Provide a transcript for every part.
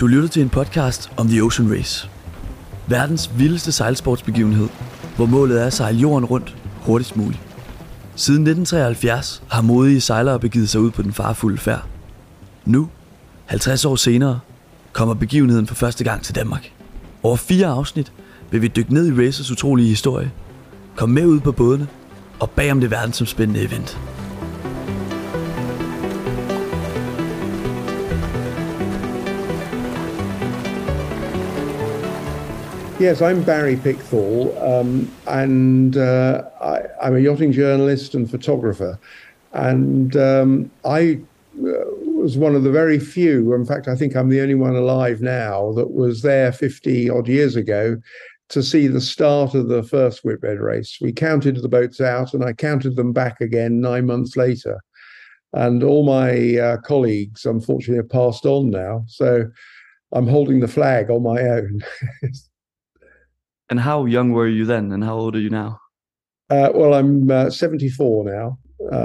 Du lytter til en podcast om The Ocean Race. Verdens vildeste sejlsportsbegivenhed, hvor målet er at sejle jorden rundt hurtigst muligt. Siden 1973 har modige sejlere begivet sig ud på den farefulde færd. Nu, 50 år senere, kommer begivenheden for første gang til Danmark. Over 4 afsnit vil vi dykke ned i racets utrolige historie, komme med ud på bådene og bag om det verdensomspændende event. Yes, I'm Barry Pickthall, and I'm a yachting journalist and photographer. And I was one of the very few, in fact, I think I'm the only one alive now, that was there 50 odd years ago to see the start of the first Whitbread race. We counted the boats out and I counted them back again 9 months later. And all my colleagues, unfortunately, have passed on now. So I'm holding the flag on my own. And how young were you then, and how old are you now? Well, I'm 74 now,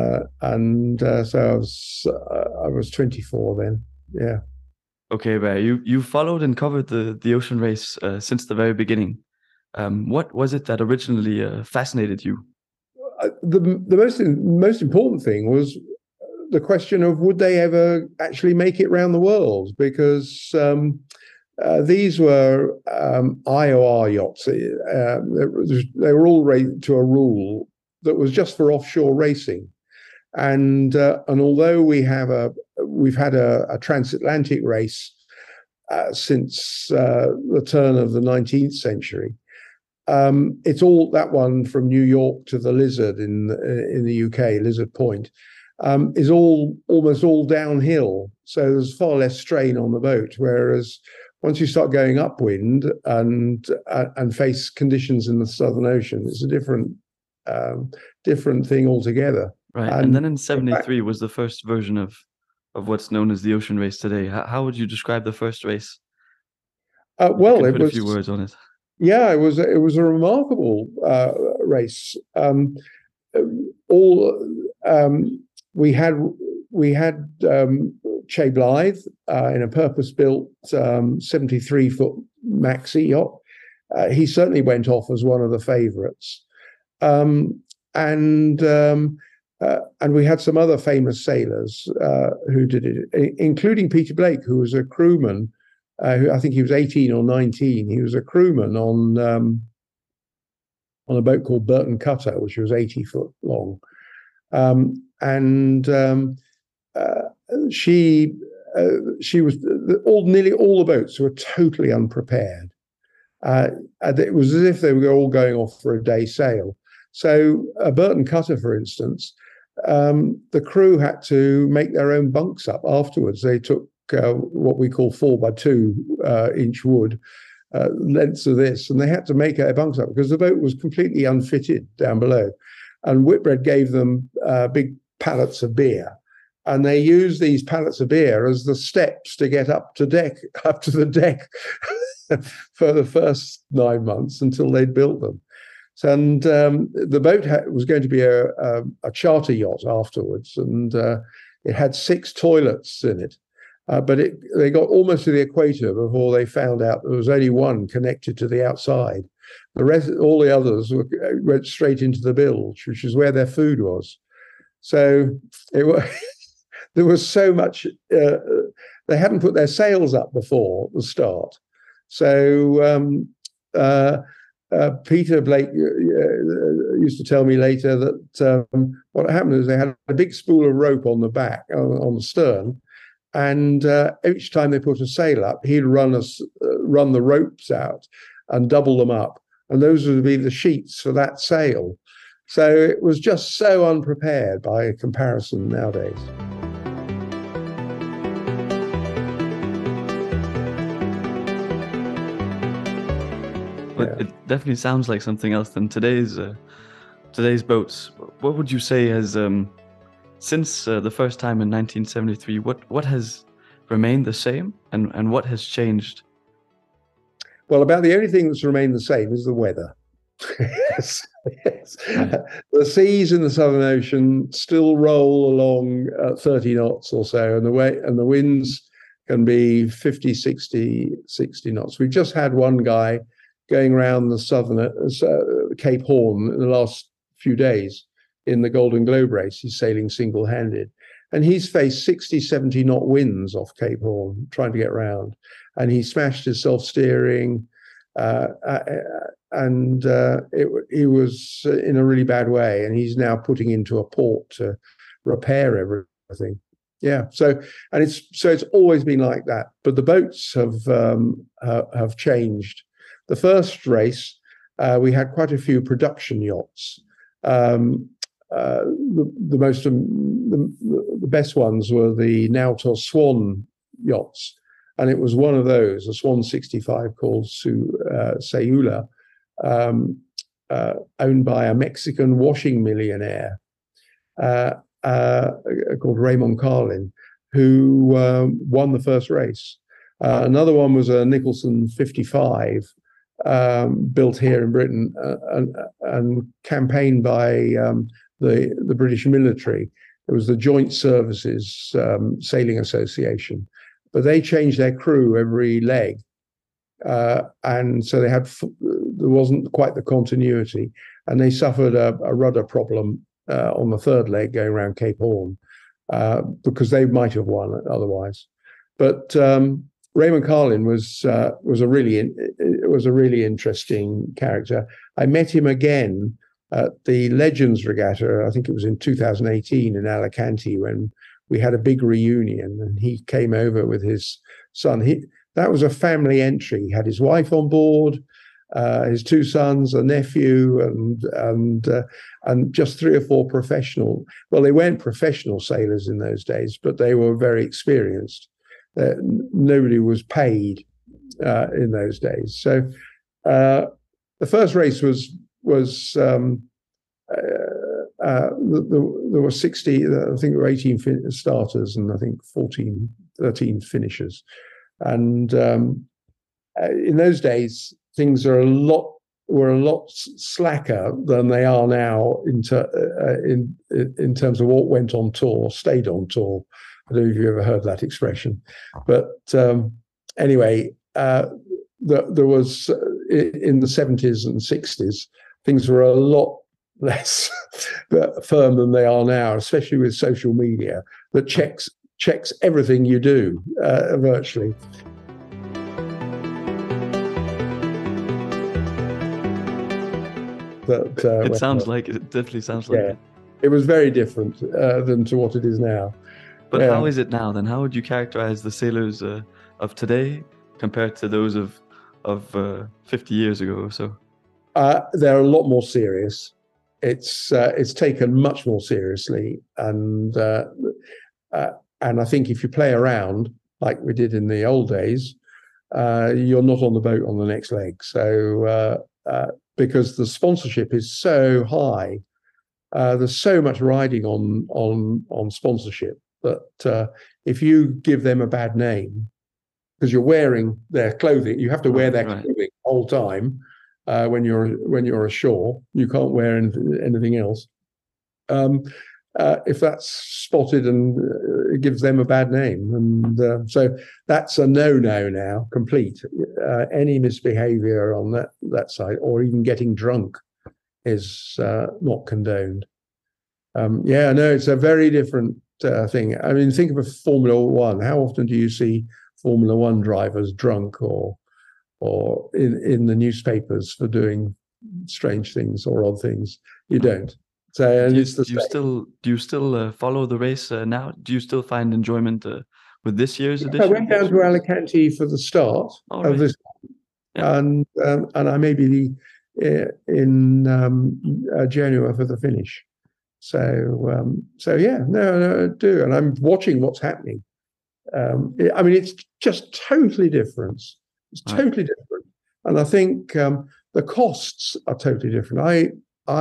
so I was 24 then. Yeah. Okay, Barry, you followed and covered the ocean race since the very beginning. What was it that originally fascinated you? The most important thing was the question of would they ever actually make it around the world, because these were IOR yachts. They were all rated to a rule that was just for offshore racing, and although we've had a transatlantic race since the turn of the 19th century, it's all that one from New York to the Lizard in the UK, Lizard Point, is almost all downhill. So there's far less strain on the boat, whereas once you start going upwind and face conditions in the Southern Ocean, it's a different thing altogether. Right, and then in '73 was the first version of what's known as the ocean race today. How would you describe the first race? Well, it put was a few words on it. Yeah, it was a remarkable race. We had Che Blythe in a purpose-built 73-foot maxi yacht. He certainly went off as one of the favourites, and we had some other famous sailors who did it, including Peter Blake, who was a crewman. Who I think he was 18 or 19. He was a crewman on a boat called Burton Cutter, which was 80 foot long, she was nearly all the boats were totally unprepared. It was as if they were all going off for a day sail. So Burton Cutter, for instance, the crew had to make their own bunks up afterwards. They took what we call 4x2 inch wood lengths of this, and they had to make their bunks up because the boat was completely unfitted down below. And Whitbread gave them big pallets of beer, and they used these pallets of beer as the steps to get up to the deck for the first 9 months until they'd built them. And the boat was going to be a charter yacht afterwards, and it had 6 toilets in it. But they got almost to the equator before they found out there was only one connected to the outside. The rest, all the others, went straight into the bilge, which is where their food was. So there was so much. They hadn't put their sails up before the start. So Peter Blake used to tell me later that what happened is they had a big spool of rope on the back, on the stern. And each time they put a sail up, he'd run the ropes out and double them up. And those would be the sheets for that sail. So it was just so unprepared by comparison nowadays. But it definitely sounds like something else than today's boats. What would you say has since the first time in 1973, what has remained the same and what has changed? Well, about the only thing that's remained the same is the weather. Yes. The seas in the Southern Ocean still roll along at 30 knots or so, and the winds can be 50, 60 knots. We just had one guy going around the southern Cape Horn in the last few days in the Golden Globe race. He's sailing single-handed. And he's faced 60, 70 knot winds off Cape Horn trying to get around. And he smashed his self-steering, and he was in a really bad way. And he's now putting into a port to repair everything. Yeah. So it's always been like that. But the boats have changed. The first race, we had quite a few production yachts. The best ones were the Nautor Swan yachts, and it was one of those, a Swan 65 called Sayula, owned by a Mexican washing millionaire called Raymond Carlin, who won the first race. Another one was a Nicholson 55, built here in Britain and campaigned by the British military. It was the Joint Services Sailing Association, but they changed their crew every leg, and so there wasn't quite the continuity, and they suffered a rudder problem on the third leg going around Cape Horn, because they might have won otherwise. But Raymond Carlin was a really interesting character. I met him again at the Legends Regatta. I think it was in 2018 in Alicante, when we had a big reunion, and he came over with his son. That was a family entry. He had his wife on board, his two sons, a nephew, and just 3 or 4 professional. Well, they weren't professional sailors in those days, but they were very experienced. Nobody was paid in those days. So the first race was there were 60, I think there were 18 starters and I think 13 finishers. And in those days, things were a lot slacker than they are now in terms of what went on tour, stayed on tour. I don't know if you've ever heard that expression, but anyway, there was in the 70s and 60s, things were a lot less firm than they are now, especially with social media that checks everything you do virtually. But it definitely sounds like it. It was very different than to what it is now. But how is it now then? How would you characterize the sailors of today compared to those of 50 years ago or so? They're a lot more serious. It's taken much more seriously, and I think if you play around like we did in the old days, you're not on the boat on the next leg. So because the sponsorship is so high, there's so much riding on sponsorship that if you give them a bad name, because you're wearing their clothing, you have to wear their clothing the whole time. When you're ashore, you can't wear anything else. If that's spotted, and it gives them a bad name, and so that's a no-no now, complete. Any misbehaviour on that side, or even getting drunk, is not condoned. It's a very different thing. I mean, think of a Formula One. How often do you see Formula One drivers drunk or in the newspapers for doing strange things or odd things? You don't. So do you still follow the race now? Do you still find enjoyment with this year's edition? I went down to Alicante for the start of this, and I may be in Genoa for the finish. So I do, and I'm watching what's happening. I mean, it's just totally different. It's totally different, and I think the costs are totally different.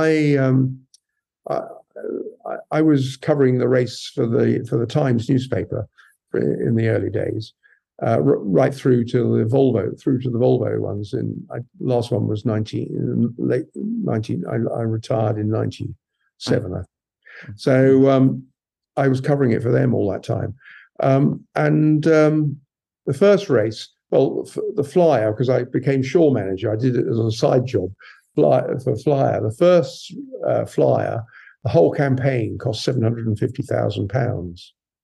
I was covering the race for the Times newspaper in the early days, right through to the Volvo ones. Last one was late 19. I retired in 97. So I was covering it for them all that time, and the first race, well, the Flyer, because I became shore manager, I did it as a side job for Flyer. The first Flyer, the whole campaign cost £750,000.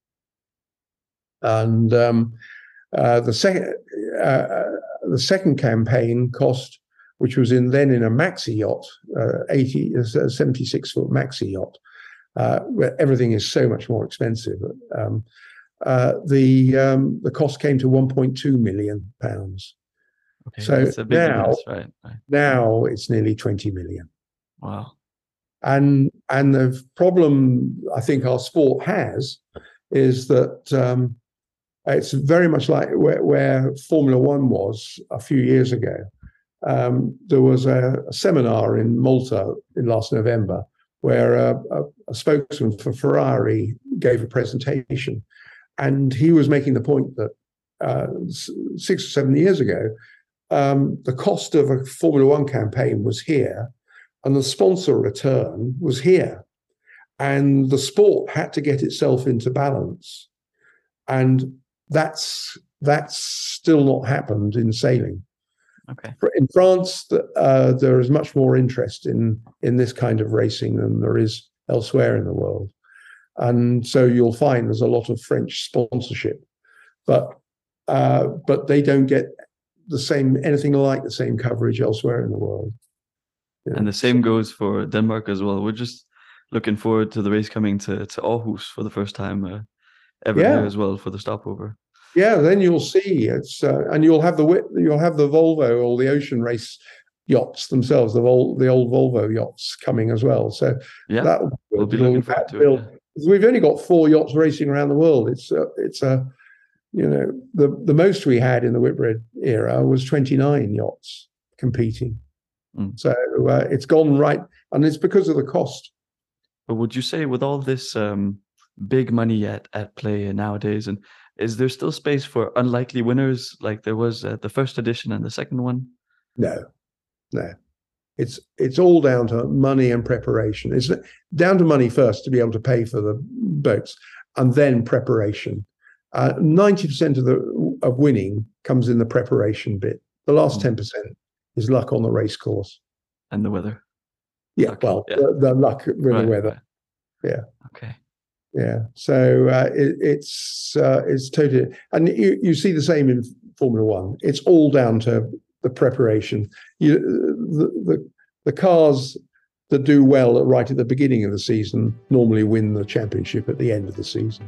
And the second campaign cost, which was then in a maxi yacht, 76-foot maxi yacht, where everything is so much more expensive. The cost came to £1.2 million. Okay, So that's a big difference, right? Now it's nearly 20 million. Wow. And the problem I think our sport has is that it's very much like where Formula One was a few years ago. There was a seminar in Malta in last November where a spokesman for Ferrari gave a presentation, and he was making the point that 6 or 7 years ago, the cost of a Formula One campaign was here, and the sponsor return was here, and the sport had to get itself into balance, and that's still not happened in sailing. Okay. In France, there is much more interest in this kind of racing than there is elsewhere in the world, and so you'll find there's a lot of French sponsorship, but they don't get anything like the same coverage elsewhere in the world. Yeah. And the same goes for Denmark as well. We're just looking forward to the race coming to Aarhus for the first time ever here as well for the stopover. Yeah, then you'll see it's and you'll have the Volvo or the Ocean Race yachts themselves, the old Volvo yachts coming as well. So yeah, we'll be looking forward to it. Yeah. We've only got 4 yachts racing around the world. It's the most we had in the Whitbread era was 29 yachts competing. So it's gone right, and it's because of the cost. But would you say with all this big money at play nowadays, and is there still space for unlikely winners like there was at the first edition and the second one? No. It's all down to money and preparation. It's down to money first to be able to pay for the boats, and then preparation. 90% of winning comes in the preparation bit. The last 10% is luck on the race course and the weather. Yeah, luck, well, yeah. The luck with the weather. Right. Yeah. Okay. Yeah. So it's totally, and you see the same in Formula One. It's all down to the preparation. The cars that do well right at the beginning of the season normally win the championship at the end of the season.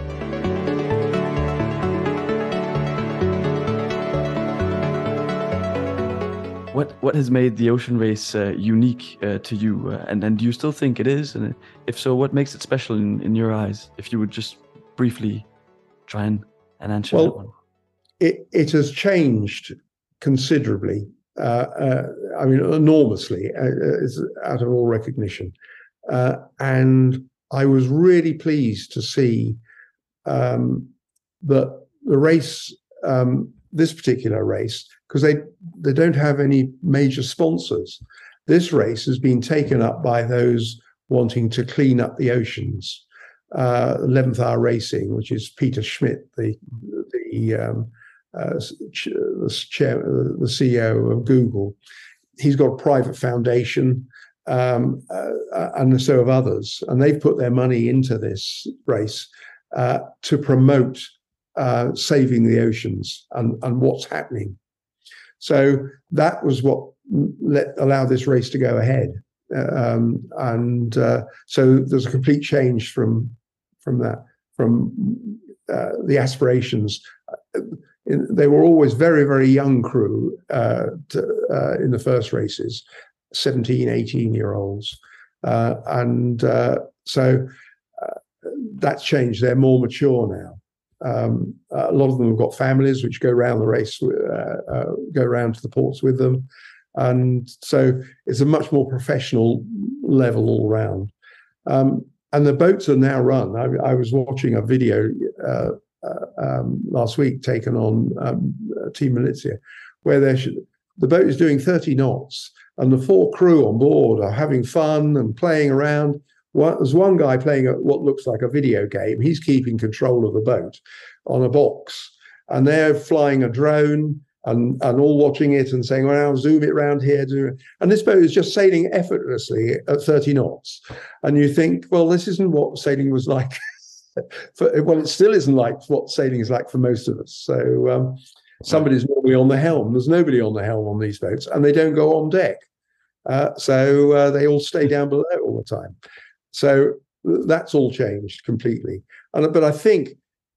What has made the Ocean Race unique to you? And do you still think it is? And if so, what makes it special in your eyes? If you would just briefly try and answer that one. It has changed considerably. I mean, enormously, out of all recognition. And I was really pleased to see that the race, this particular race, because they don't have any major sponsors. This race has been taken up by those wanting to clean up the oceans. 11th Hour Racing, which is Peter Schmidt, the CEO of Google. He's got a private foundation, and so have others, and they've put their money into this race to promote saving the oceans and what's happening. So that was what allowed this race to go ahead, and so there's a complete change from that, from the aspirations. They were always very, very young crew in the first races, 17, 18-year-olds. So that's changed. They're more mature now. A lot of them have got families which go around the race, go around to the ports with them. And so it's a much more professional level all around. And the boats are now run. I was watching a video last week taken on Team Milizia, where the boat is doing 30 knots and the 4 crew on board are having fun and playing around. There's one guy playing what looks like a video game. He's keeping control of the boat on a box, and they're flying a drone and all watching it and saying, well, I'll zoom it around here. And this boat is just sailing effortlessly at 30 knots. And you think, well, this isn't what sailing was like. Well, it still isn't like what sailing is like for most of us. So somebody's normally on the helm. There's nobody on the helm on these boats, and they don't go on deck. So they all stay down below all the time. So that's all changed completely. But I think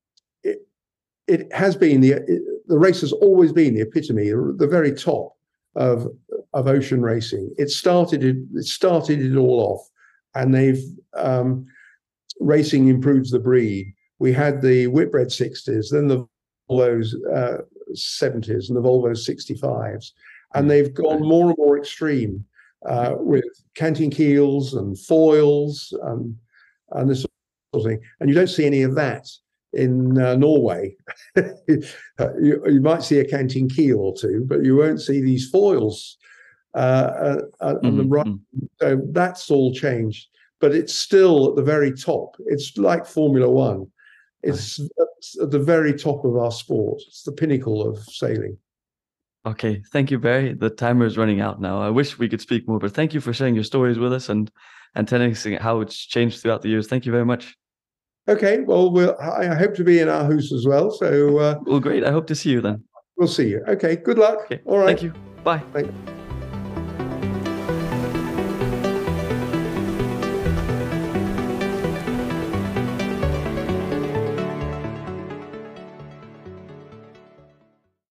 it has been the race has always been the epitome, the very top of ocean racing. It started it all off, and they've racing improves the breed. We had the Whitbread 60s, then the Volvo's 70s, and the Volvo 65s, and they've gone more and more extreme with canting keels and foils and this sort of thing. And you don't see any of that in Norway. You might see a canting keel or two, but you won't see these foils on the right. So that's all changed, but it's still at the very top. It's like Formula One. It's at the very top of our sport. It's the pinnacle of sailing. Okay, thank you, Barry. The timer is running out now. I wish we could speak more, but thank you for sharing your stories with us and telling us how it's changed throughout the years. Thank you very much. Okay, well, I hope to be in Aarhus as well. So, well, great. I hope to see you then. We'll see you. Okay, good luck. Okay. All right. Thank you. Bye. Thank you.